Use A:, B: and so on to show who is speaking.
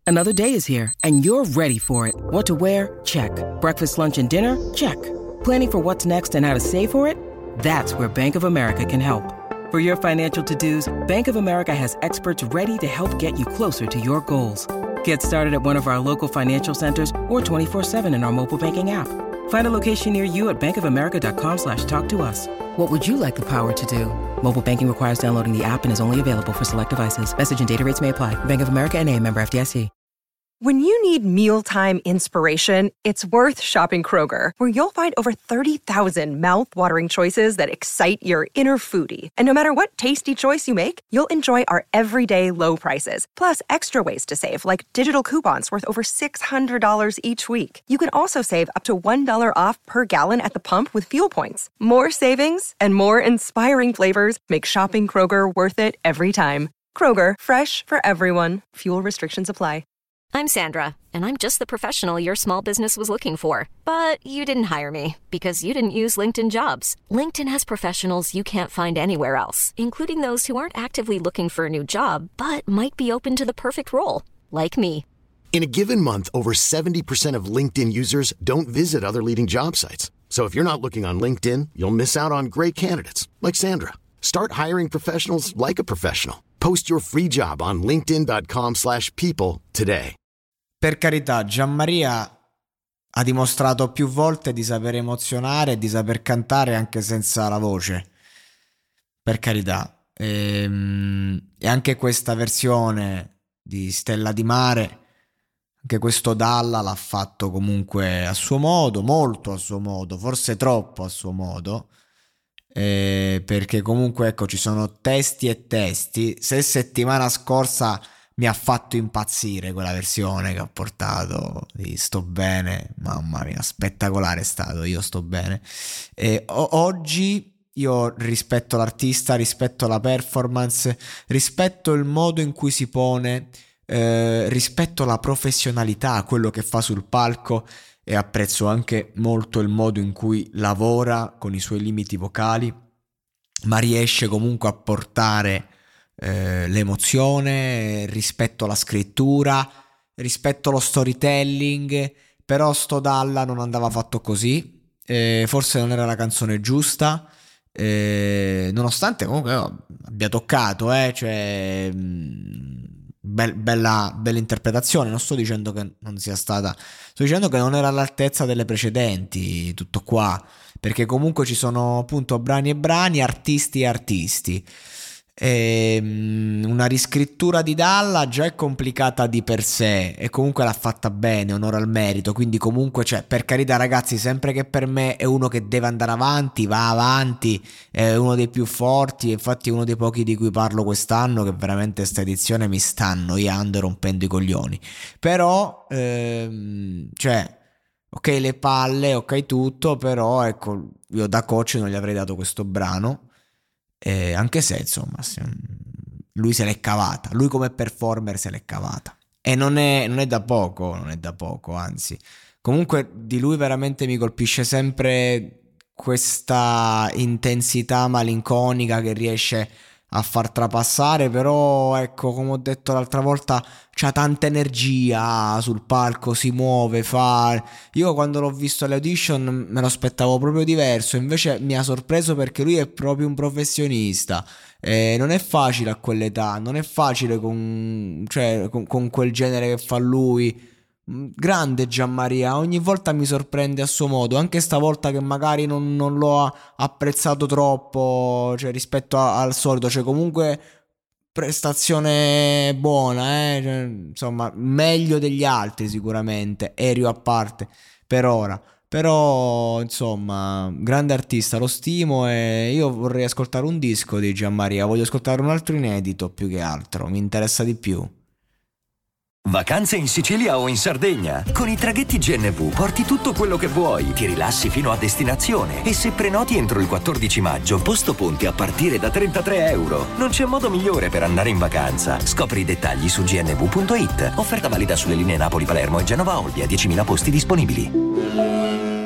A: Another day is here, and you're ready for it. What to wear? Check. Breakfast, lunch, and dinner? Check. Planning for what's next and how to save for it? That's where Bank of America can help. For your financial to-dos, Bank of America has experts ready to help get you closer to your goals. Get started at one of our local financial centers or 24/7 in our mobile banking app. Find a location near you at bankofamerica.com/talktous. What would you like the power to do? Mobile banking requires downloading the app and is only available for select devices. Message and data rates may apply. Bank of America N.A., member FDIC.
B: When you need mealtime inspiration, it's worth shopping Kroger, where you'll find over 30,000 mouth-watering choices that excite your inner foodie. And no matter what tasty choice you make, you'll enjoy our everyday low prices, plus extra ways to save, like digital coupons worth over $600 each week. You can also save up to $1 off per gallon at the pump with fuel points. More savings and more inspiring flavors make shopping Kroger worth it every time. Kroger, fresh for everyone. Fuel restrictions apply.
C: I'm Sandra, and I'm just the professional your small business was looking for. But you didn't hire me because you didn't use LinkedIn Jobs. LinkedIn has professionals you can't find anywhere else, including those who aren't actively looking for a new job, but might be open to the perfect role, like me.
D: In a given month, over 70% of LinkedIn users don't visit other leading job sites. So if you're not looking on LinkedIn, you'll miss out on great candidates, like Sandra. Start hiring professionals like a professional. Post your free job on linkedin.com/people today.
E: Per carità, Gianmaria ha dimostrato più volte di saper emozionare e di saper cantare anche senza la voce. Per carità. E anche questa versione di Stella di Mare, anche questo Dalla l'ha fatto comunque a suo modo, molto a suo modo, forse troppo a suo modo. Perché comunque ecco, ci sono testi e testi. Se settimana scorsa mi ha fatto impazzire quella versione che ha portato di Sto Bene, mamma mia, spettacolare è stato, io sto bene. Oggi io rispetto l'artista, rispetto la performance, rispetto il modo in cui si pone, rispetto la professionalità, quello che fa sul palco, e apprezzo anche molto il modo in cui lavora con i suoi limiti vocali, ma riesce comunque a portare l'emozione, rispetto alla scrittura, rispetto allo storytelling. Però sto Dalla non andava fatto così, forse non era la canzone giusta, nonostante comunque abbia toccato, cioè bella interpretazione. Non sto dicendo che non sia stata, sto dicendo che non era all'altezza delle precedenti, tutto qua, perché comunque ci sono appunto brani e brani, artisti e artisti. Una riscrittura di Dalla già è complicata di per sé e comunque l'ha fatta bene, onore al merito. Quindi comunque, cioè, per carità ragazzi, sempre che per me è uno che deve andare avanti, va avanti, è uno dei più forti, infatti è uno dei pochi di cui parlo quest'anno che veramente sta edizione mi sta annoiando e rompendo i coglioni. Però cioè ok le palle, ok tutto, però ecco, io da coach non gli avrei dato questo brano. Anche se insomma lui se l'è cavata, lui come performer se l'è cavata, e non è da poco, anzi comunque di lui veramente mi colpisce sempre questa intensità malinconica che riesce a far trapassare. Però ecco, come ho detto l'altra volta, c'ha tanta energia sul palco, si muove, fa. Io quando l'ho visto alle audition me lo aspettavo proprio diverso, invece mi ha sorpreso perché lui è proprio un professionista. Non è facile a quell'età, non è facile con quel genere che fa lui. Grande Gianmaria, ogni volta mi sorprende a suo modo, anche stavolta che magari non l'ho apprezzato troppo, cioè rispetto al solito, cioè comunque prestazione buona, cioè, insomma meglio degli altri sicuramente, aereo a parte per ora. Però insomma, grande artista, lo stimo, e io vorrei ascoltare un disco di Gianmaria, voglio ascoltare un altro inedito più che altro, mi interessa di più.
F: Vacanze in Sicilia o in Sardegna? Con i traghetti GNV porti tutto quello che vuoi, ti rilassi fino a destinazione e se prenoti entro il 14 maggio, posto ponti a partire da €33. Non c'è modo migliore per andare in vacanza. Scopri i dettagli su gnv.it. Offerta valida sulle linee Napoli-Palermo e Genova-Olbia, 10.000 posti disponibili.